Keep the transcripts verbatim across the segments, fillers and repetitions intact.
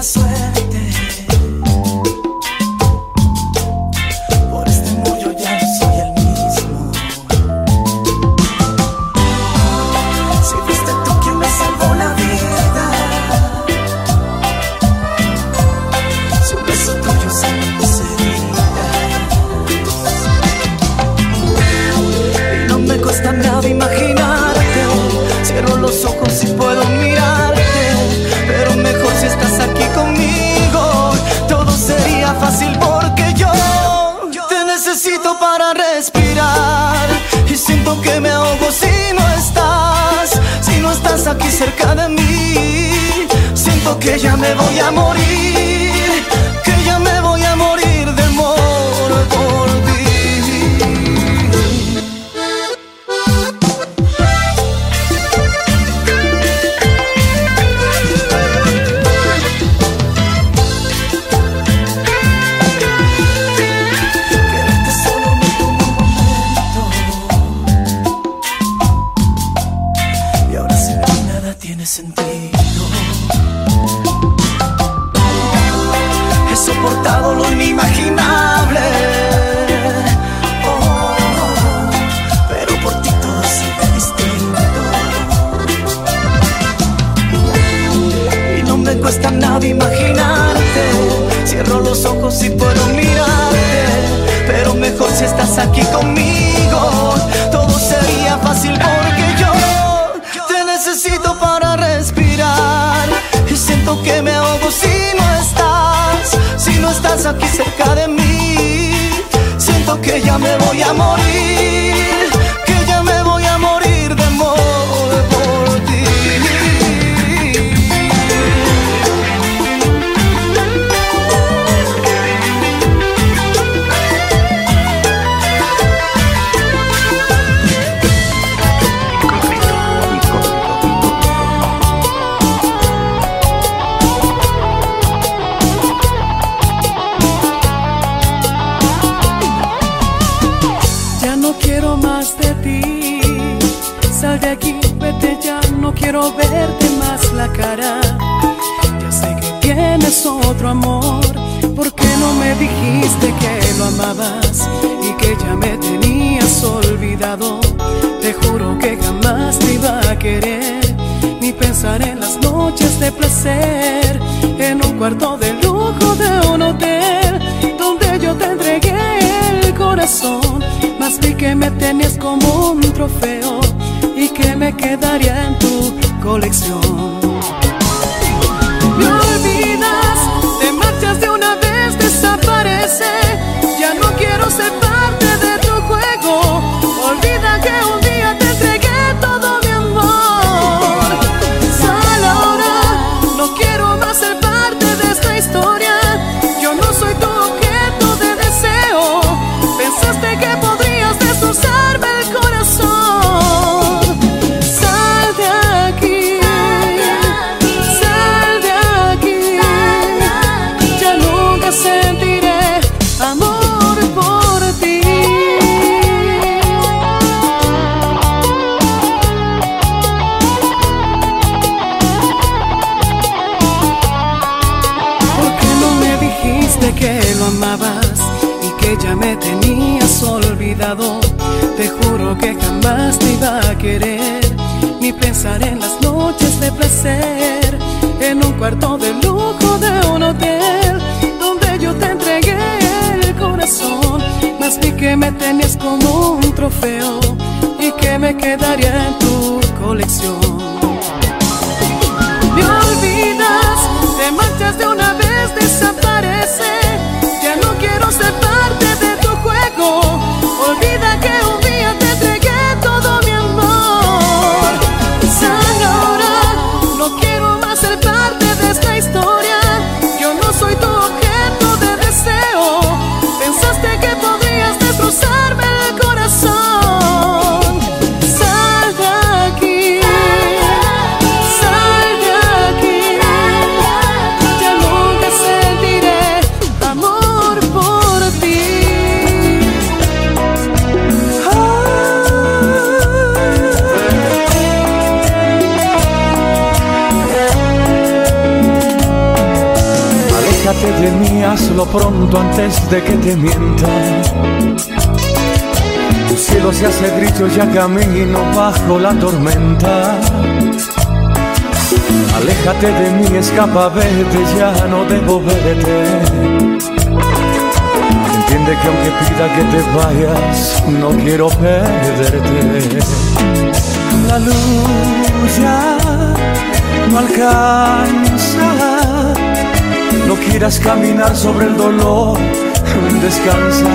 mala suerte. Por este amor yo ya no soy el mismo. Si fuiste tú quien me salvó la vida, si un beso tuyo sana mis heridas, y no me cuesta nada imaginarte. Cierro los ojos y puedo mirarte, pero mejor si estás aquí conmigo. Todo sería fácil porque yo te necesito para respirar, y siento que me ahogo si no estás, si no estás aquí cerca de mí. Siento que ya me voy a morir, que ya me voy a morir de amor por ti. Sentido. He soportado lo inimaginable, oh, pero por ti todo sigue distinto. Y no me cuesta nada imaginarte. Cierro los ojos y puedo mirarte, pero mejor si estás aquí conmigo. Todo sería fácil porque yo te necesito para respirar, y siento que me ahogo si no estás, si no estás aquí cerca de mí. Siento que ya me voy a morir, que ya me voy a morir de amor por ti. Sal de aquí, vete ya, no quiero verte más la cara. Ya sé que tienes otro amor, ¿por qué no me dijiste que lo amabas y que ya me tenías olvidado? Te juro que jamás te iba a querer, ni pensar en las noches de placer, en un cuarto de lujo de un hotel, donde yo te entregué el corazón. Más vi que me tenías como un trofeo y que me quedaría en tu colección. Me olvidas, te marchas de una vez, desaparece. Ya no quiero ser parte de tu juego. Olvida que un día te entregué todo mi amor. Sal ahora, no quiero más ser parte de esta historia. Yo no soy tu objeto de deseo. Pensaste que podrías destrozarme el corazón. Sal de aquí, sal de aquí. Ya nunca sentiré amor por ti. ¿Por qué no me dijiste que lo amabas y que ya me tenías olvidado? Te juro que jamás te iba a querer, ni pensar en las noches de placer, en un cuarto de lujo de un hotel, donde yo te entregué el corazón. Más vi que me tenías como un trofeo y que me quedaría en tu colección. Me olvidas, te marchas de una vez, desaparece. Ya no quiero ser parte de tu juego. Olvida que un día te entregué todo mi amor. Sal ahora, no quiero más ser parte de esta historia. Yo no soy tu objeto de deseo. Pensaste que podrías destrozarme el corazón. Sal Aléjate de mí, hazlo pronto antes de que te mienta. Tu cielo se hace gris, yo ya camino bajo la tormenta. Aléjate de mí, escapa, vete, ya no debo verte. Entiende que aunque pida que te vayas, no quiero perderte. La luz ya no alcanza, no quieras caminar sobre el dolor, descansa.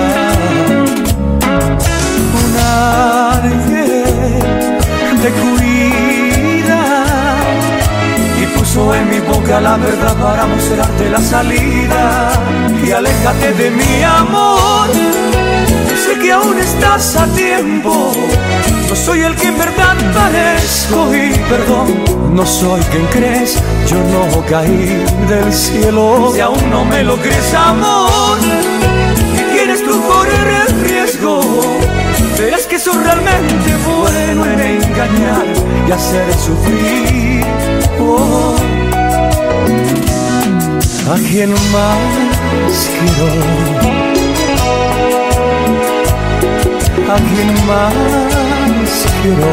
Un ángel te cuida y puso en mi boca la verdad para mostrarte la salida. Y aléjate de mi amor, sé que aún estás a tiempo. No soy el que en verdad parezco y perdón, no soy quien crees, yo no caí del cielo. Si aún no me lo crees, amor, y quieres tú correr el riesgo, verás que soy realmente bueno en engañar y hacer sufrir. Oh, ¿a quién más quiero? ¿A quién más quiero?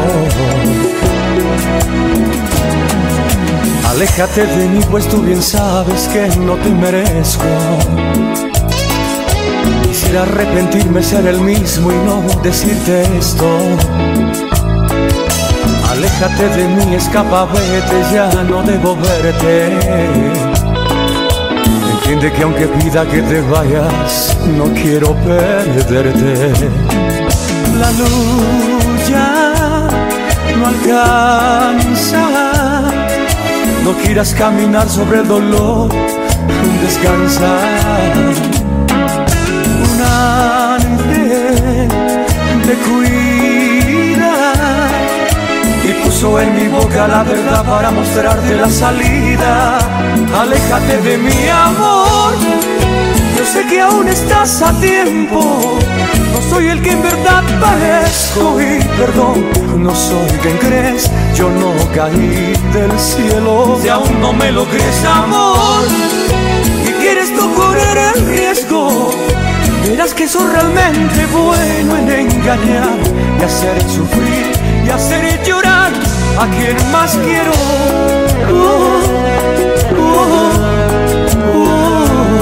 Aléjate de mí, pues tú bien sabes que no te merezco. Quisiera arrepentirme, ser el mismo y no decirte esto. Aléjate de mí, escapa, vete, ya no debo verte. Entiende que aunque pida que te vayas, no quiero perderte. La luz ya no alcanza, no quieras caminar sobre el dolor, descansa. Un ángel te cuida y puso en mi boca la verdad para mostrarte la salida. Aléjate de mi amor, yo sé que aún estás a tiempo. No soy el que en verdad parezco y perdón, no soy quien crees, yo no caí del cielo. Si aún no me lo crees, amor, y quieres tú correr el riesgo, verás que soy realmente bueno en engañar y hacer sufrir y hacer llorar a quien más quiero. Oh, oh, oh.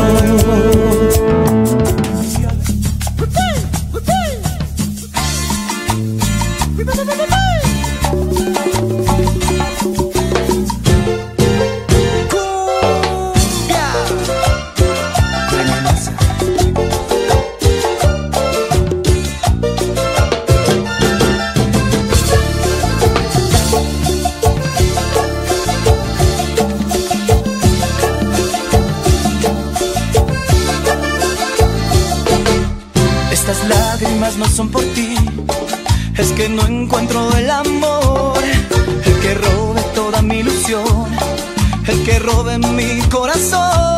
Estas lágrimas no son por ti, es que no encuentro el amor, el que robe toda mi ilusión, el que robe mi corazón.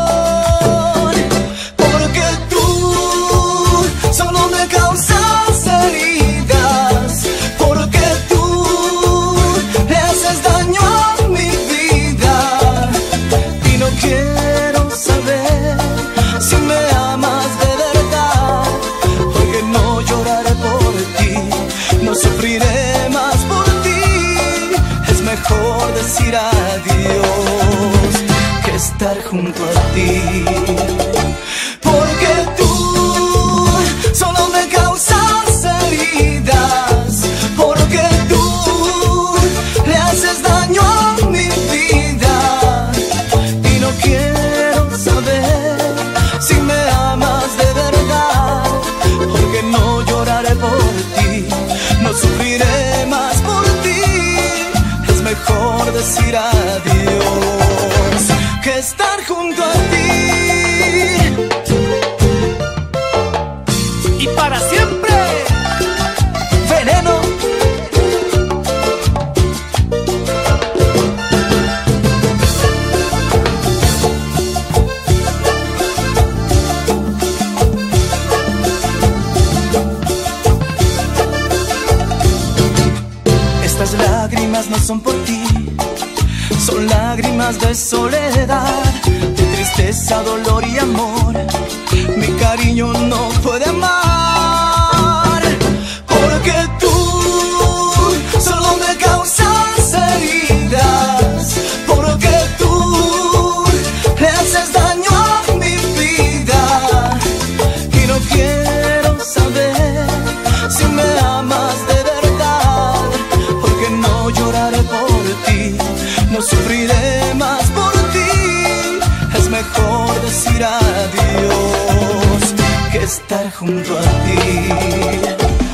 Porque tú solo me causas heridas, porque tú le haces daño a mi vida. Y no quiero saber si me amas de verdad, porque no lloraré por ti, no sufriré más por ti. Es mejor decir adiós que estar junto a ti. Porque tú solo me causas heridas, porque tú le haces daño a mi vida. Y no quiero saber si me amas de verdad, porque no lloraré por ti, no sufriré más por ti. Es mejor decir adiós que estar junto a ti. Y para siempre, Veneno. Estas lágrimas no son por ti, son lágrimas de soledad, de tristeza tristeza, dolor y amor, mi cariño no puede amar. Porque tú solo me causas heridas, porque tú le haces daño a mi vida. Y no quiero saber si me amas de verdad, porque no lloraré por ti, no sufriré más por ti. Es mejor decir adiós que estar junto a ti.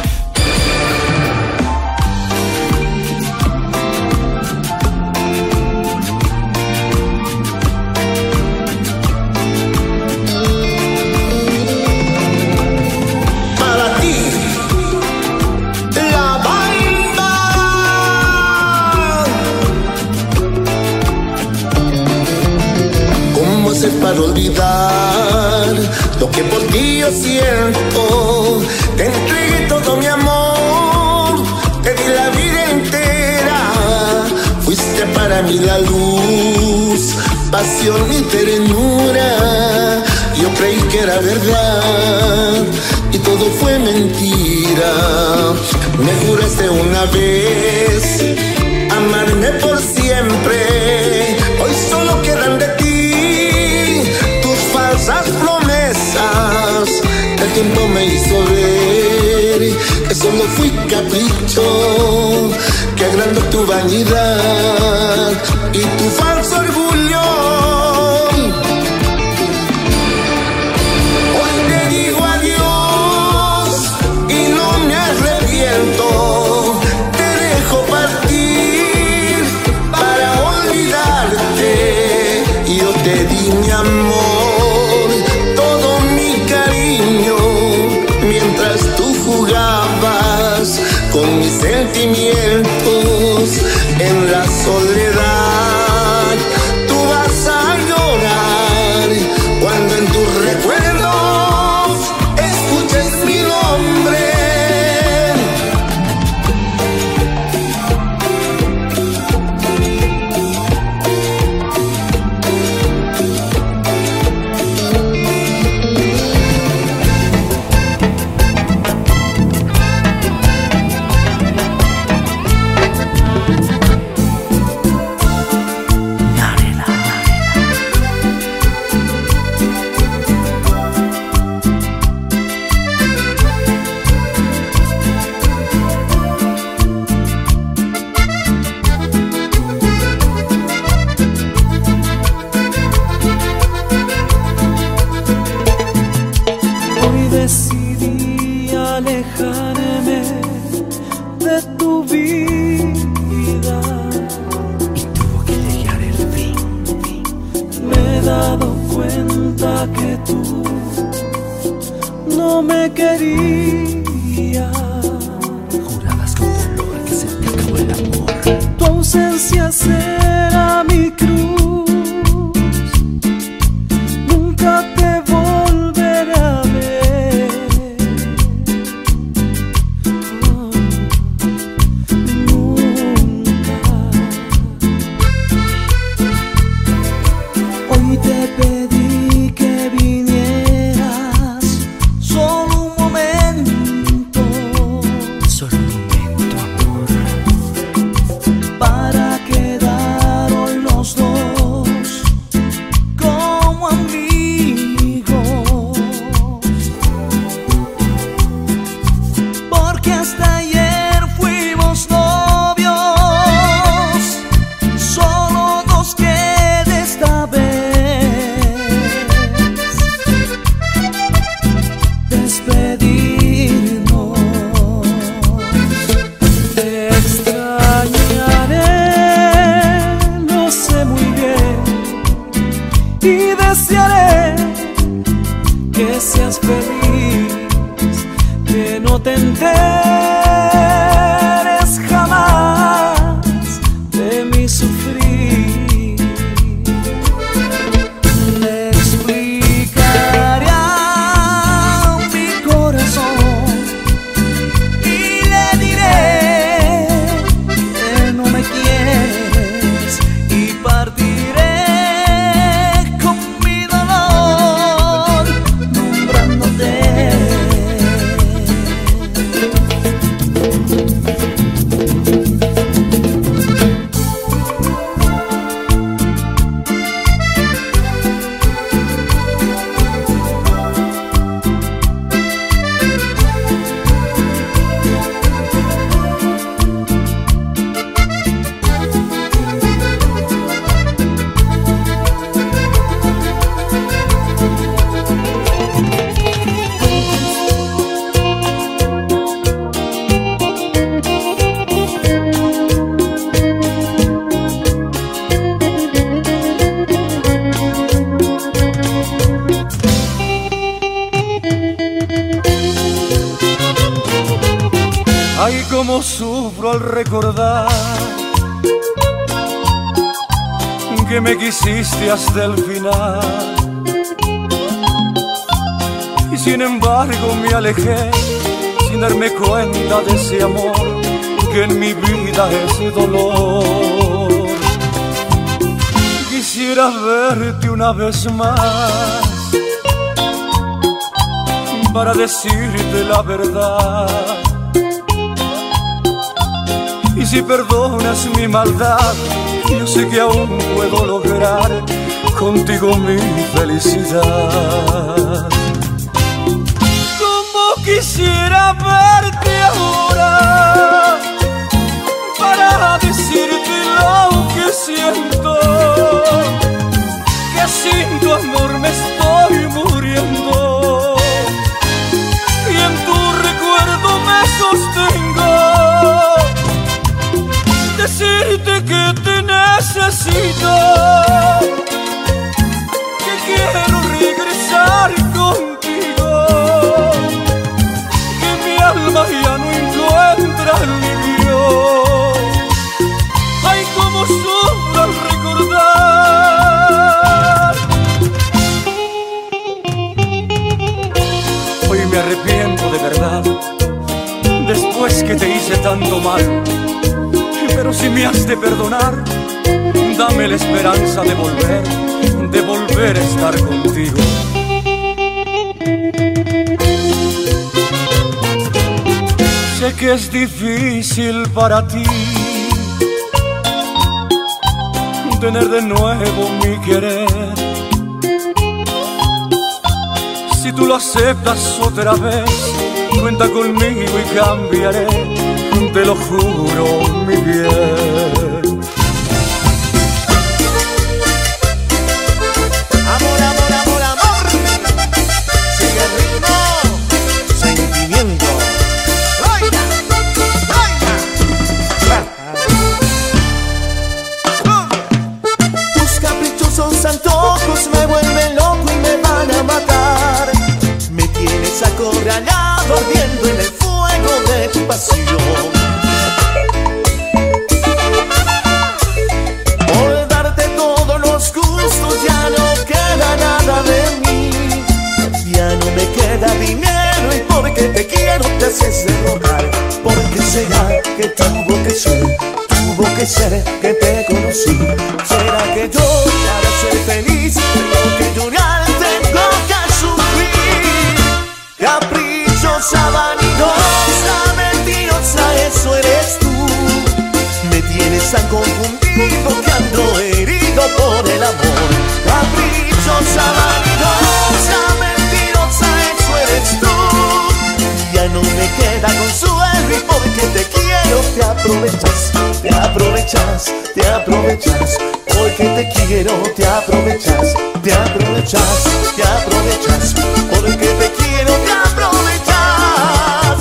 Para olvidar lo que por ti yo siento, te entregué todo mi amor, te di la vida entera, fuiste para mí la luz, pasión y ternura. Yo creí que era verdad y todo fue mentira. Me juraste una vez amarme por siempre, hoy solo quedan de ti falsas promesas. El tiempo me hizo ver que solo fui capricho, que agrandó tu vanidad y tu falso orgullo. Hoy te digo adiós y no me arrepiento, te dejo partir para olvidarte. Yo te di mi amor, con mis sentimientos en la soledad. Tú vas a llorar cuando en tus recuerdos escuches mi nombre. Partiré con mi dolor. sufro al recordar que me quisiste hasta el final. Y sin embargo me alejé sin darme cuenta de ese amor que en mi vida es dolor. Quisiera verte una vez más para decirte la verdad. Y si perdonas mi maldad, yo sé que aún puedo lograr contigo mi felicidad. Como quisiera verte ahora para decirte lo que siento, que sin tu amor me estoy muriendo y en tu recuerdo me sostengo. Decirte que te necesito, que quiero regresar contigo, que mi alma ya no encuentra alivio. Ay, cómo sufro al recordar. Hoy me arrepiento de verdad, después que te hice tanto mal. Pero si me has de perdonar, dame la esperanza de volver, de volver a estar contigo. Sé que es difícil para ti tener de nuevo mi querer. Si tú lo aceptas otra vez, cuenta conmigo y cambiaré, te lo juro, mi bien. Amor, amor, amor, amor. Sigue el ritmo, sentimiento. ¡Oiga! ¡Oiga! Tus caprichosos antojos me vuelven loco y me van a matar. Me tienes acorralado, ardiendo en el fuego de tu pasión. Por darte todos los gustos ya no queda nada de mí. Ya no me queda dinero y porque te quiero te haces de rogar. ¿Por qué será que tuvo que ser, tuvo que ser que te conocí? ¿Será que yo para ser feliz tengo que llorar, tengo que sufrir? Caprichosa, vanidosa, mentirosa, eso eres tú. Me tienes tan confundido que ando herido por el amor. Caprichosa, vanidosa, mentirosa, eso eres tú. Ya no me queda consuelo y porque te quiero te aprovechas, te aprovechas, te aprovechas. Porque te quiero te aprovechas, te aprovechas, te aprovechas. Porque te quiero te aprovechas.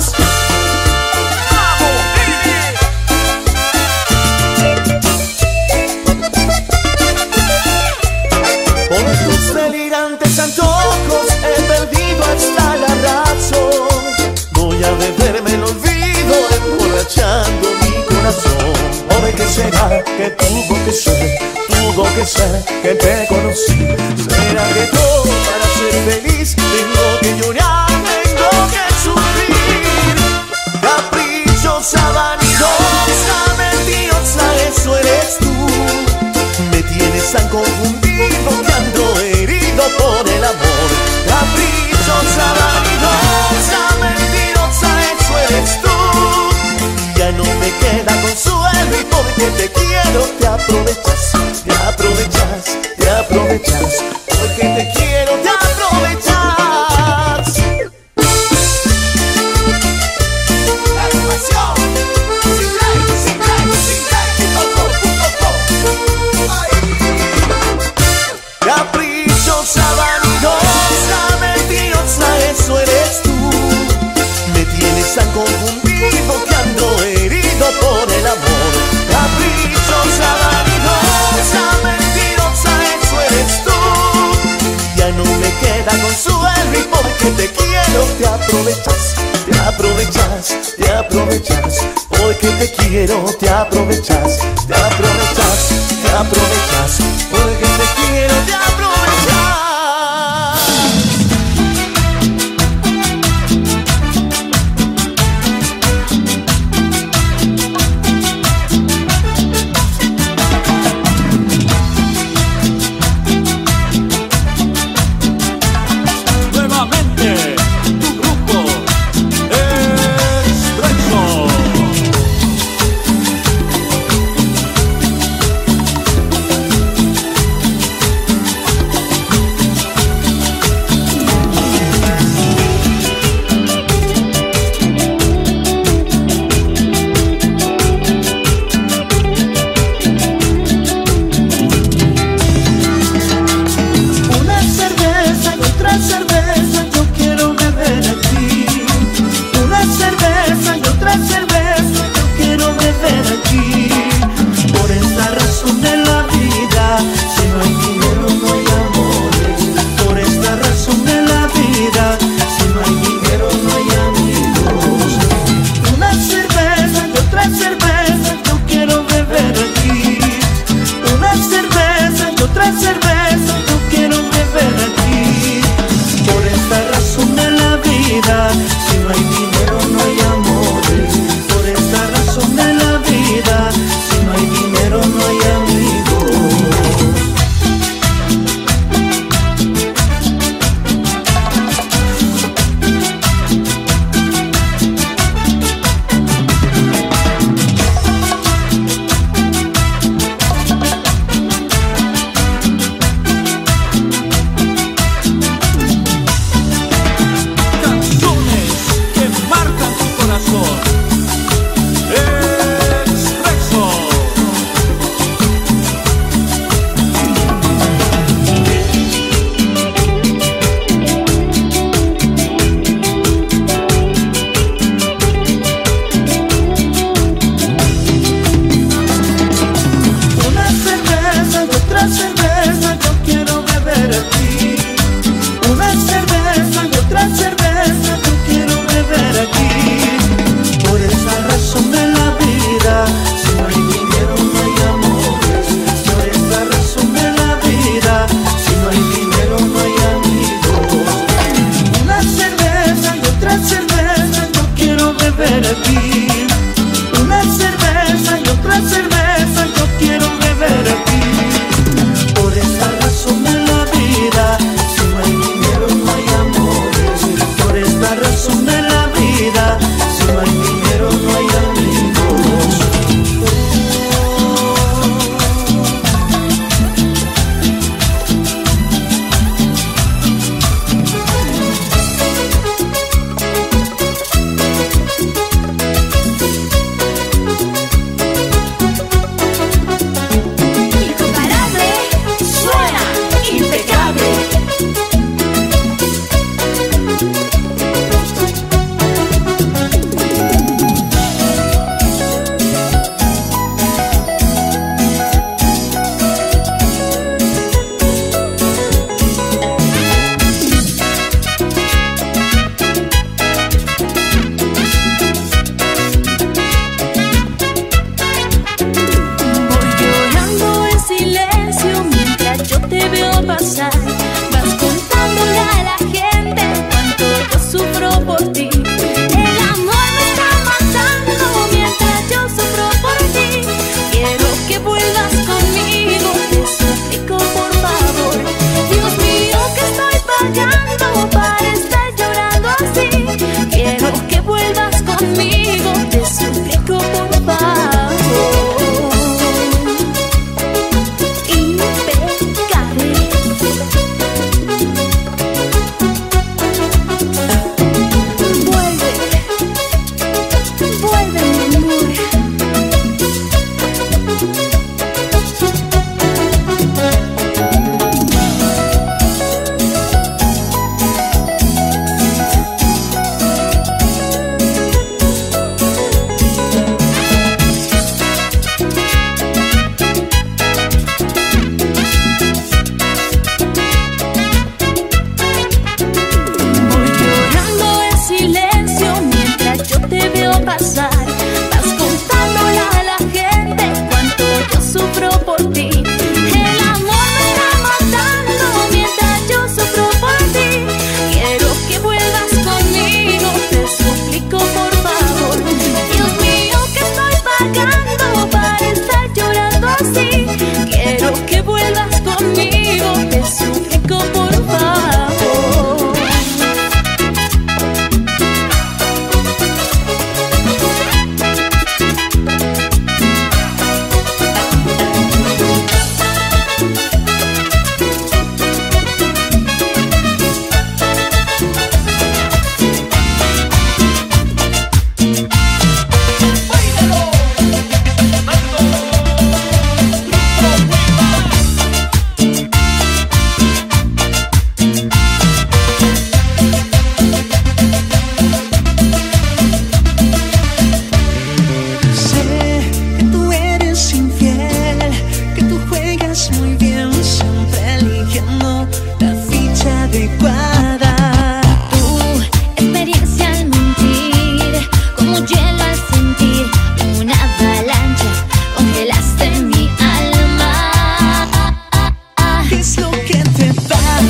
Por tus delirantes antojos he perdido hasta la razón. Voy a beberme el olvido emborrachando mi corazón. ¿Por qué será que tuvo que ser, tuvo que ser que te conocí? ¿Será que yo para ser feliz tengo que llorar, tengo que sufrir? Caprichosa, vanidosa, mentirosa, eso eres tú. Me tienes tan confundido que ando herido por el amor. Caprichosa, vanidosa, mentirosa, eso eres tú. Ya no me queda consuelo y porque te quiero te aprovechas, te aprovechas, te aprovechas. Porque te quiero te aprovechas. La pasión, sin ley, sin ley, sin ley, punto com. Caprichosa, vanidosa, mentirosa, eso eres tú. Me tienes tan confundido que ando herido por el amor. Caprichosa, vanidosa, mentirosa, eso eres tú. Ya no me queda consuelo y porque te quiero te aprovechas, te aprovechas, te aprovechas. Porque te quiero, te aprovechas, te aprovechas, te aprovechas, porque te quiero, te aprovechas.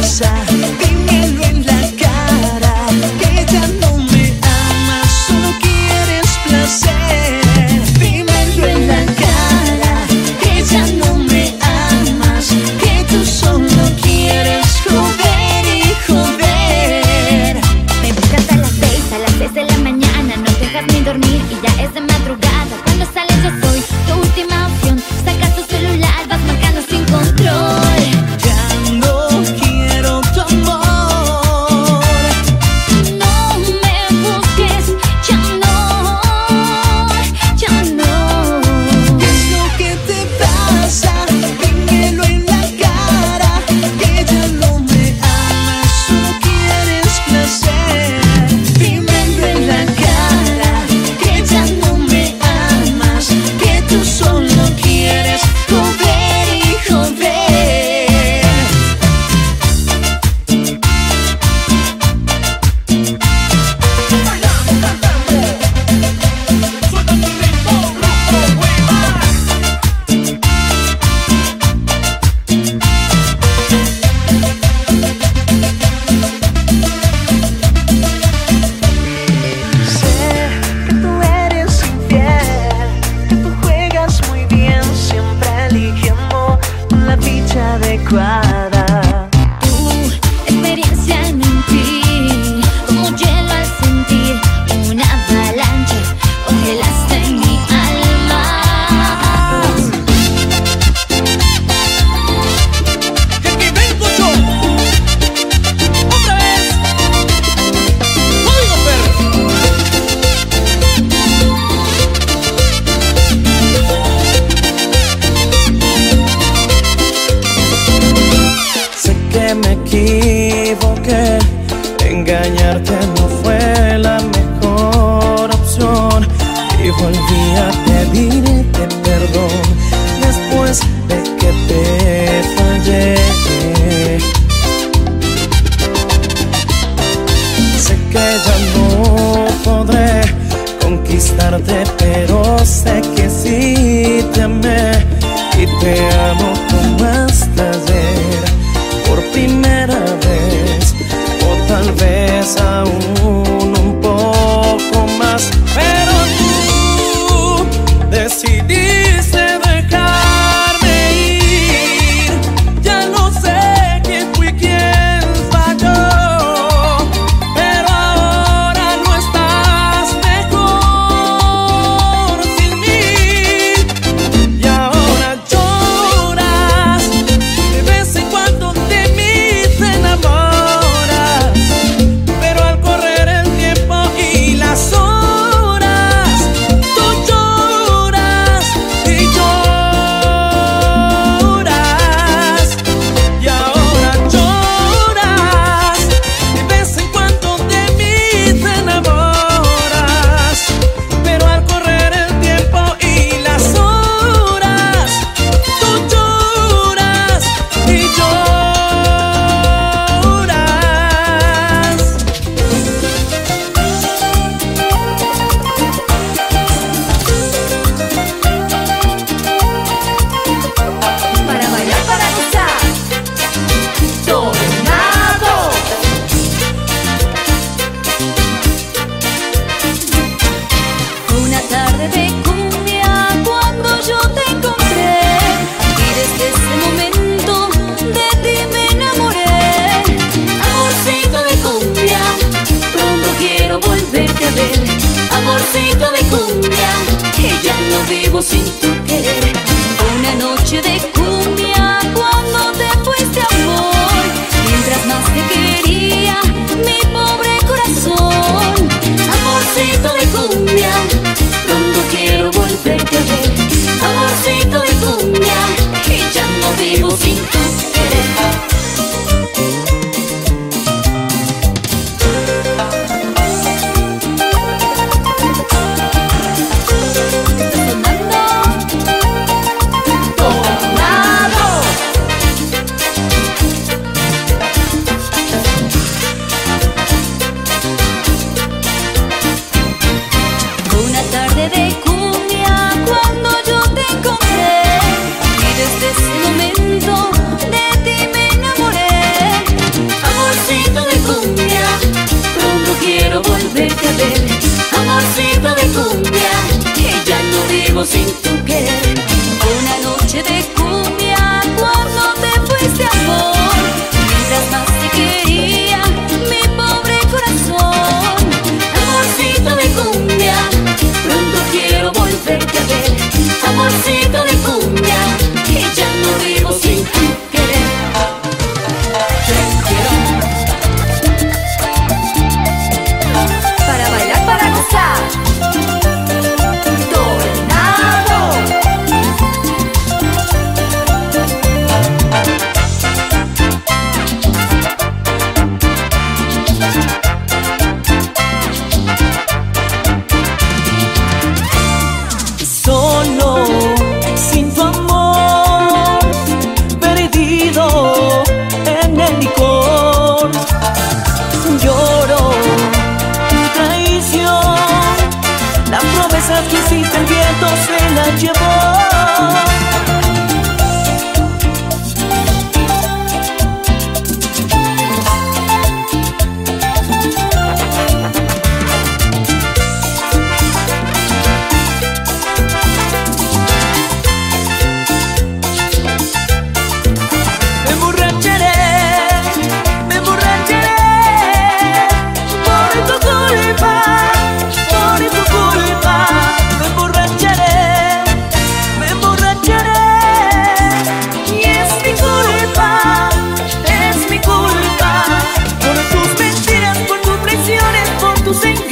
pasa? Dímelo en la cara, que ya no me amas, solo quieres placer. Dímelo en la cara, que ya no me amas, que tú solo quieres joder y joder. Me buscas a las seis, a las seis de la mañana, no te dejas ni dormir y ya es de madrugada. Cuando sales yo soy tu última opción, sacas tu celular, vas marcando sin control. Ya no quiero tu amor. No me busques, ya no, ya no. ¿Qué es lo que te pasa? Dímelo en la cara, que ya no me amas, solo quieres placer. Dímelo en la cara, que ya no me amas, que tú solo quieres joder y joder. Sé que tú eres infiel, que tú juegas muy bien, siempre eligiendo la ficha adecuada. Tu experiencia en mentir, como hielo al sentir una avalancha, congelaste mi alma. Y aquí vengo yo, otra vez, Código Perro. Sé que me equivoqué, engañarte no fue la mejor opción y volví a pedirte perdón después de que te fallé. Sé que ya no podré conquistarte, pero sé que sí te amé y te amo como hasta ayer, por primera vez, o tal vez aún un poco más. Pero tú decidiste dejarme ir. Ya no sé quién fui quien falló, pero ahora no estás mejor sin mí. Y ahora lloras, de vez en cuando de mí te enamoras, pero al correr el tiempo y las horas, tú lloras y lloras. Y ahora lloras, de vez en cuando de mí te enamoras, pero al correr el tiempo y las horas, tú lloras y Para bailar, para gozar, Tornado. Una tarde de cumbia cuando yo te encontré y desde ese momento de ti me enamoré. Amorcito de cumbia, pronto quiero volverte a ver. Amorcito de cumbia, que ya no vivo sin tu querer. Una noche de cumbia cuando te fuiste, amor, mientras más te quería mi pobre corazón. Amorcito de cumbia, pronto quiero volverte a ver. Amorcito de cumbia, que ya no vivo sin tu querer. Está sonando viento se la llevó. Sing